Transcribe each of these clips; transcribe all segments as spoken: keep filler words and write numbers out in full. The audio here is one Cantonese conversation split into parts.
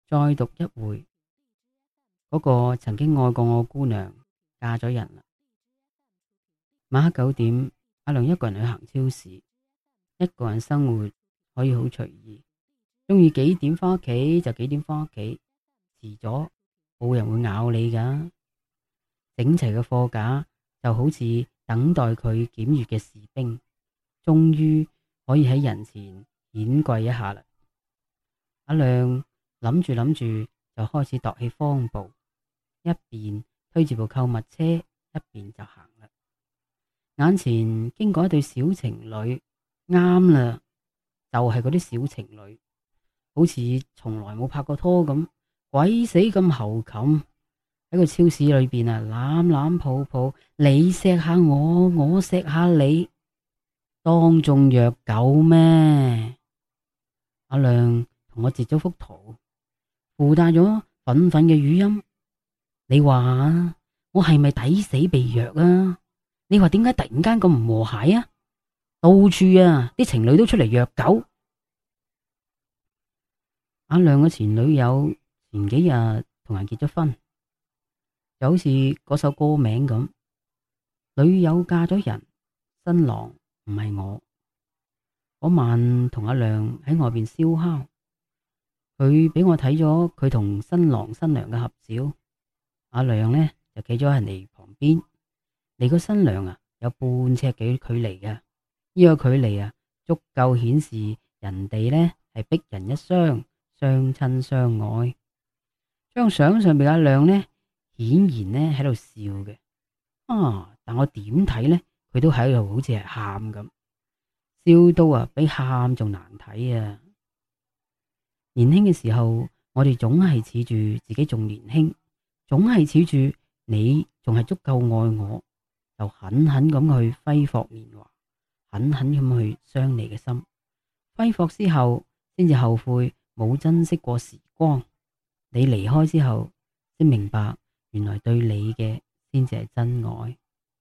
再讀一回，嗰個曾經愛過我姑娘嫁咗人啦。晚黑九點，阿亮一個人去行超市，一個人生活可以好隨意，中意幾點翻屋企就幾點翻屋企，遲咗冇人會咬你噶。整齊嘅貨架就好似等待佢檢閱嘅士兵，終於可以喺人前顯貴一下啦。阿亮諗住諗住就開始踱起方步，一邊推住部購物車，一邊就行啦。眼前經過一對小情侶，啱啦，就係嗰啲小情侶，好似從來冇拍過拖咁，鬼死咁猴擒喺個超市裏邊啊，攬攬抱抱，你錫下我，我錫下你，當眾虐狗咩？阿亮同我截咗幅圖，附帶咗憤憤嘅語音。你話我係咪抵死被虐啊？你話點解突然間咁唔和諧啊？到處啊啲情侶都出嚟虐狗。阿亮嘅前女友前幾日同人結咗婚，就好似嗰首歌名咁，女友嫁咗人，新郎唔係我。嗰晚同阿亮喺外邊燒烤，佢俾我睇咗佢同新郎新娘嘅合照。阿亮呢就企咗喺人哋旁邊，離個新娘啊有半尺幾距離嘅，呢個距離啊足夠顯示人哋呢係逼人一雙，相親相愛。張相上邊阿亮呢顯然呢喺度笑嘅，啊！但我點睇呢，佢都喺度好似係喊咁，笑到啊比喊仲難睇啊！年輕嘅時候，我哋總係恃住自己仲年輕，總係恃住你仲係足夠愛我，就狠狠咁去揮霍年華，狠狠咁去傷你嘅心。揮霍之後，先至後悔冇珍惜過時光。你離開之後，先明白原來對你嘅先至係真愛。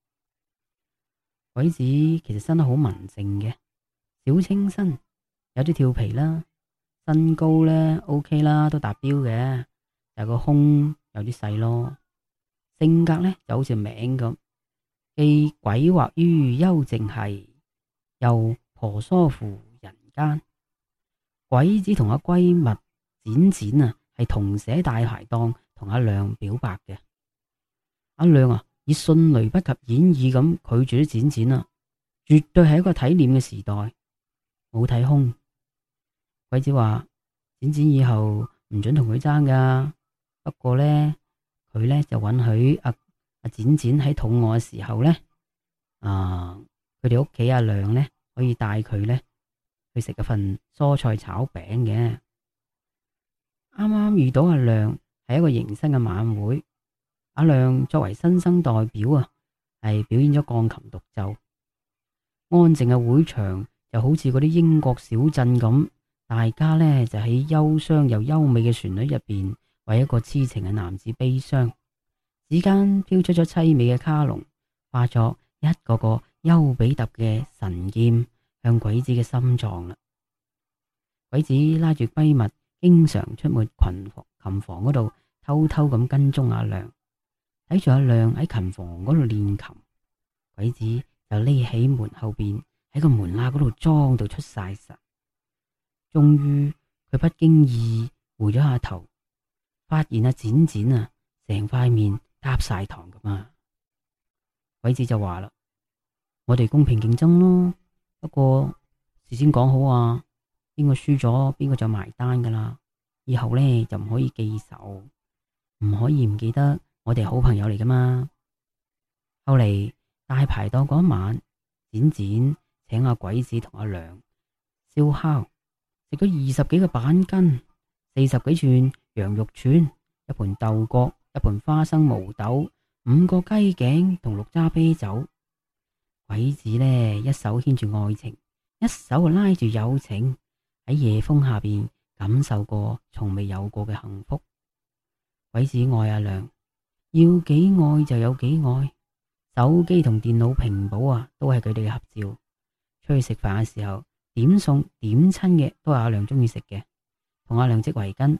鬼子其實生得好文靜嘅，小清新，有啲調皮啦，身高呢 OK 啦，都達標嘅，但係個胸有啲細咯。性格呢就好似名咁，既詭惑於幽靜系，又婆娑乎人間。鬼子同阿閨蜜展展啊，係同寫大排檔同阿亮表白嘅。阿亮啊，以迅雷不及掩耳咁拒絕咗展展啊，絕對係一個體面嘅時代，冇睇空。鬼子話展展以後唔准同佢爭噶，不過呢，佢呢就允許阿阿展展喺肚餓嘅時候呢，啊，佢哋屋企阿亮呢可以帶佢呢去食一份蔬菜炒餅嘅。啱啱遇到阿亮係一個迎新嘅晚會，阿亮作為新生代表啊，係表演咗鋼琴獨奏。安靜嘅會場就好似嗰啲英國小鎮咁，大家呢就喺憂傷又優美嘅旋律入邊，為一個痴情嘅男子悲傷。指間飄出咗淒美嘅卡農，化作一個個丘比特嘅神劍向鬼子嘅心臟啦。鬼子拉住閨蜜，經常出沒群房琴房嗰度，偷偷咁跟蹤阿亮，睇住阿亮喺琴房嗰度練琴。鬼子就匿喺門後邊，喺個門罅嗰度裝到出晒神。終於佢不經意回咗下頭，發現阿展展啊，成塊面嗒晒糖咁啊！鬼子就話啦：我哋公平競爭咯，不過事先講好啊，邊個輸咗邊個就埋單噶啦。以後呢就唔可以記仇，唔可以唔記得我哋係好朋友嚟噶嘛。後嚟大排檔嗰晚，展展請阿鬼子同阿亮燒烤，食咗二十幾個板筋，四十幾串羊肉串，一盤豆角，一盤花生毛豆，五個雞頸同六揸啤酒。鬼子呢一手牽住愛情，一手拉住友情，喺夜風下邊感受過從未有過嘅幸福。鬼子愛阿亮，要幾愛就有幾愛。手機同電腦屏保啊，都係佢哋嘅合照。出去食飯嘅時候，點餸點親嘅都係阿亮中意食嘅，同阿亮織圍巾，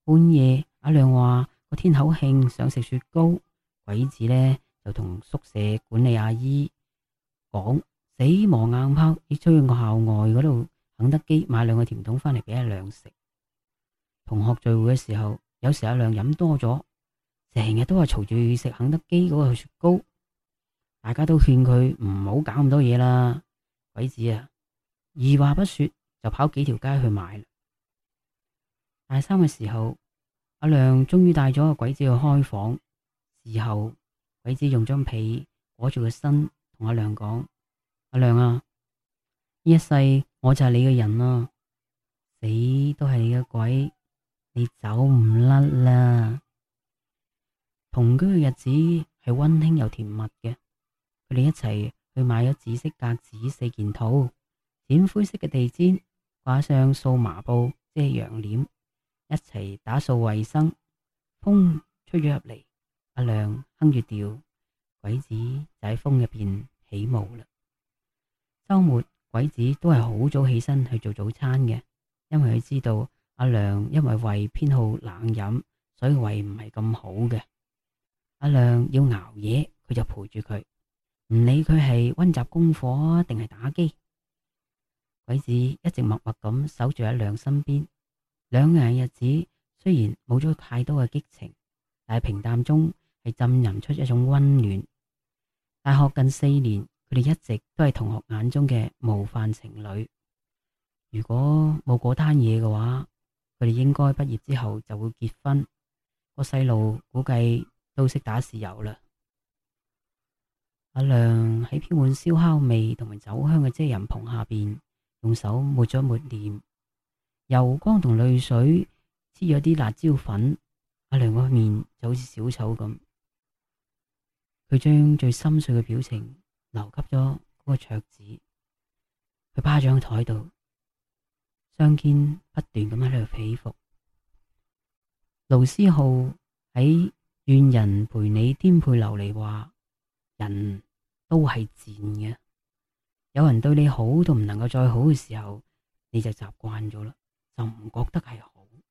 半夜阿亮話個天口慶想食雪糕，鬼子呢就同宿舍管理阿姨講，死磨硬泡要出去個校外嗰度肯德基買兩個甜筒返嚟俾阿亮食。同學聚會嘅時候，有時阿亮飲多咗，成日都係嘈住食肯德基嗰個雪糕，大家都勸佢唔好搞咁多嘢啦。鬼子啊，二話不說就跑幾條街去買啦。大三嘅時候，阿亮終於帶咗個鬼子去開房。事後，鬼子用張被裹住個身，同阿亮講：阿亮啊，呢一世我就係你嘅人啦，死都係你嘅鬼，你走唔甩啦。同居嘅日子係溫馨又甜蜜嘅，佢哋一齊去買咗紫色格子四件套，淺灰色嘅地氈，掛上數麻布遮陽簾，一齊打掃衛生。風吹咗入嚟，阿亮哼住調，鬼子就喺風入邊起舞啦。周末鬼子都係好早起身去做早餐嘅，因為佢知道阿亮因為胃偏好冷飲，所以胃唔係咁好嘅。阿亮要熬夜，佢就陪住佢，唔理佢係溫習功課定係打機。鬼子一直默默咁守住阿亮身邊，兩個人嘅日子雖然冇咗太多嘅激情，但係平淡中係浸淫出一種溫暖。大學近四年，佢哋一直都係同學眼中嘅模範情侶。如果冇嗰單嘢嘅話，佢哋應該畢業之後就會結婚。個細路估計都識打豉油啦。阿亮喺飄滿燒烤味同埋酒香嘅遮人棚下邊，用手抹咗抹臉，油光同淚水黐咗啲辣椒粉。阿亮個面就好似小丑咁，佢將最心碎嘅表情留給咗嗰個桌子。佢趴咗喺台度，雙肩不斷咁喺度起伏。盧思浩喺願人陪你顛沛流離話：人都係賤嘅，有人對你好到唔能夠再好嘅時候，你就習慣咗啦，就唔覺得係好。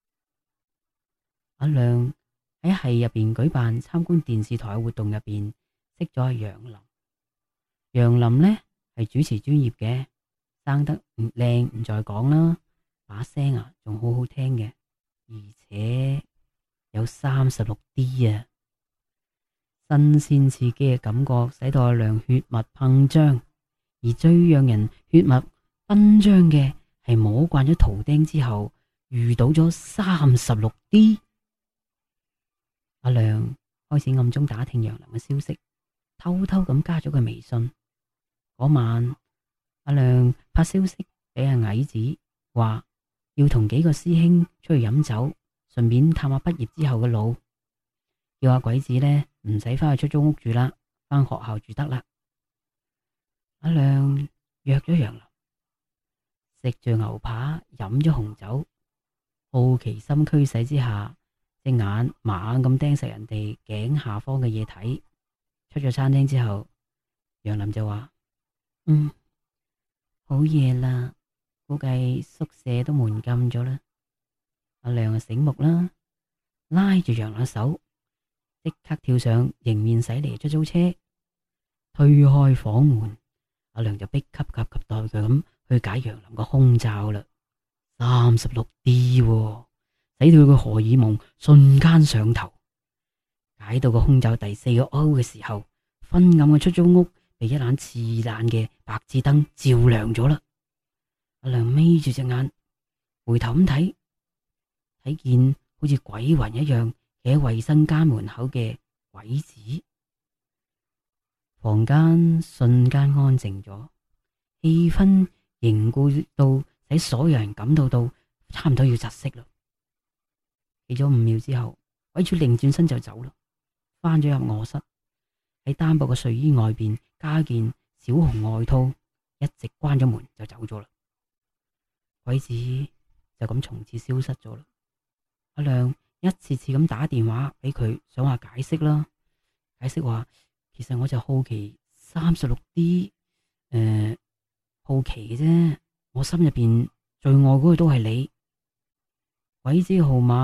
阿亮喺系入邊舉辦參觀電視台嘅活動入邊識咗阿楊林。楊林呢係主持專業嘅，生得唔靚唔再講啦，把聲啊仲好好聽嘅，而且有三十六 D 啊！新鮮刺激嘅感覺使到阿亮血脈膨脹，而最讓人血脈奔張嘅係摸慣咗圖釘之後遇到咗三十六 D。阿亮開始暗中打聽楊林嘅消息，偷偷咁加咗佢微信。嗰晚，阿亮發消息俾阿矮子，話要同幾個師兄出去飲酒，順便探下畢業之後嘅路。叫阿鬼子呢唔使翻去出租屋住啦，翻學校住得啦。阿亮約咗楊林，食住牛扒，飲咗紅酒，好奇心驅使之下，隻眼猛咁盯實人哋頸下方嘅嘢睇。出咗餐廳之後，楊林就話：嗯，好夜啦，估計宿舍都門禁咗啦。阿亮啊醒目啦，拉住楊林手，即刻跳上迎面駛嚟出租車，推開房門，阿亮就迫急急急待佢咁去解楊林個胸罩啦。三十六 D，喎，使到佢個荷爾蒙瞬間上頭。解到個胸罩第四個 O 嘅時候，昏暗嘅出租屋被一盞刺眼嘅白熾燈照亮咗啦。阿亮眯住隻眼，回頭咁睇，睇見好似鬼魂一樣企喺衛生間門口嘅鬼子。房間瞬間安靜咗，氣氛凝固到使所有人感到到差唔多要窒息啦。企咗五秒之後，鬼主擰轉身就走啦，翻咗入臥室，喺單薄嘅睡衣外邊加件小紅外套，一直關咗門就走咗啦。鬼子就咁從此消失咗啦。阿亮一次次咁打電話俾佢，想話解釋啦，解釋話其實我就好奇三十六 D，誒、呃，好奇嘅啫，我心入邊最愛嗰個都係你。鬼子嘅號碼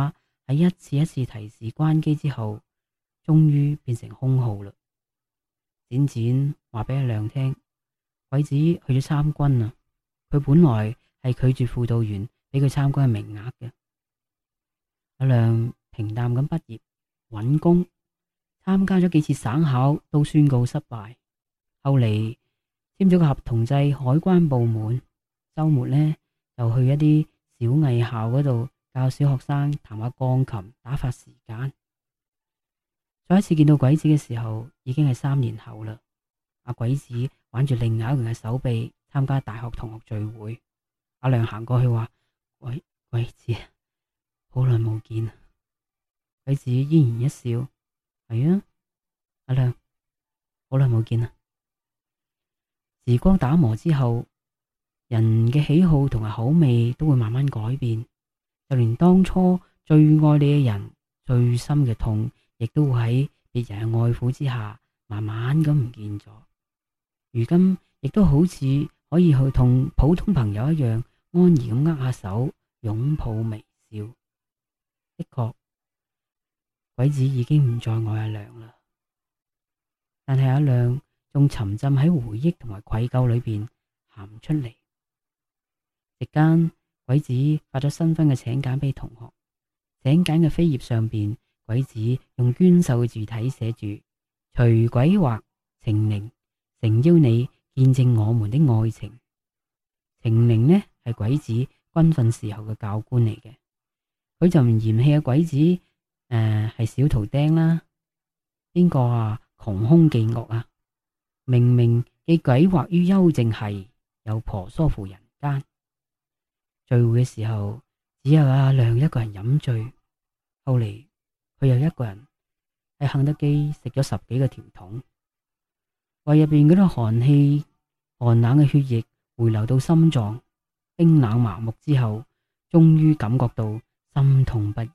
喺一次一次提示關機之後，終於變成空號啦。展展話俾阿亮聽，鬼子去咗參軍啊！佢本來係拒絕輔導員俾佢參軍嘅名額嘅。阿亮平淡咁畢業揾工，參加咗幾次省考都宣告失敗。後嚟簽咗個合同制海關部門，周末呢就去一啲小藝校嗰度教小學生彈下鋼琴打發時間。再一次見到鬼子嘅時候，已經係三年後啦。阿鬼子挽住另外一個人嘅手臂參加大學同學聚會，阿亮行過去話：鬼鬼子，好耐冇見。鬼子依然一笑：係啊，阿亮，好耐冇見啦。時光打磨之後，人嘅喜好同埋口味都會慢慢改變，就連當初最愛你嘅人，最深嘅痛，亦都會喺別人嘅愛撫之下，慢慢咁唔見咗。如今亦都好似可以去同普通朋友一樣，安然咁握下手，擁抱微笑。的確，鬼子已經唔再愛阿亮啦，但係阿亮仲沉浸喺回憶同埋愧疚裏邊，行唔出嚟。席間，鬼子發咗新婚嘅請柬俾同學，請柬嘅扉頁上邊，鬼子用娟秀嘅字體寫住：隨鬼畫程寧，誠邀你見證我們的愛情。程寧呢係鬼子軍訓時候嘅教官嚟嘅，佢就唔嫌棄阿鬼子誒係、呃、小圖釘啦。邊個啊窮凶極惡啊！明明既詭惑於幽靜係，又婆娑乎人間。聚會嘅時候，只有阿亮一個人飲醉。後嚟佢又一個人喺肯德基食咗十幾個甜筒，胃入邊嗰啲寒氣、寒冷嘅血液回流到心臟，冰冷麻木之後，終於感覺到心痛不已。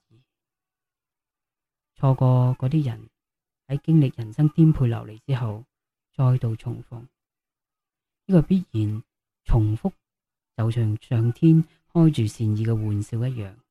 錯過嗰啲人，喺經歷人生顛沛流離之後，再度重逢，呢、這個必然重複，就像上天開住善意嘅玩笑一樣。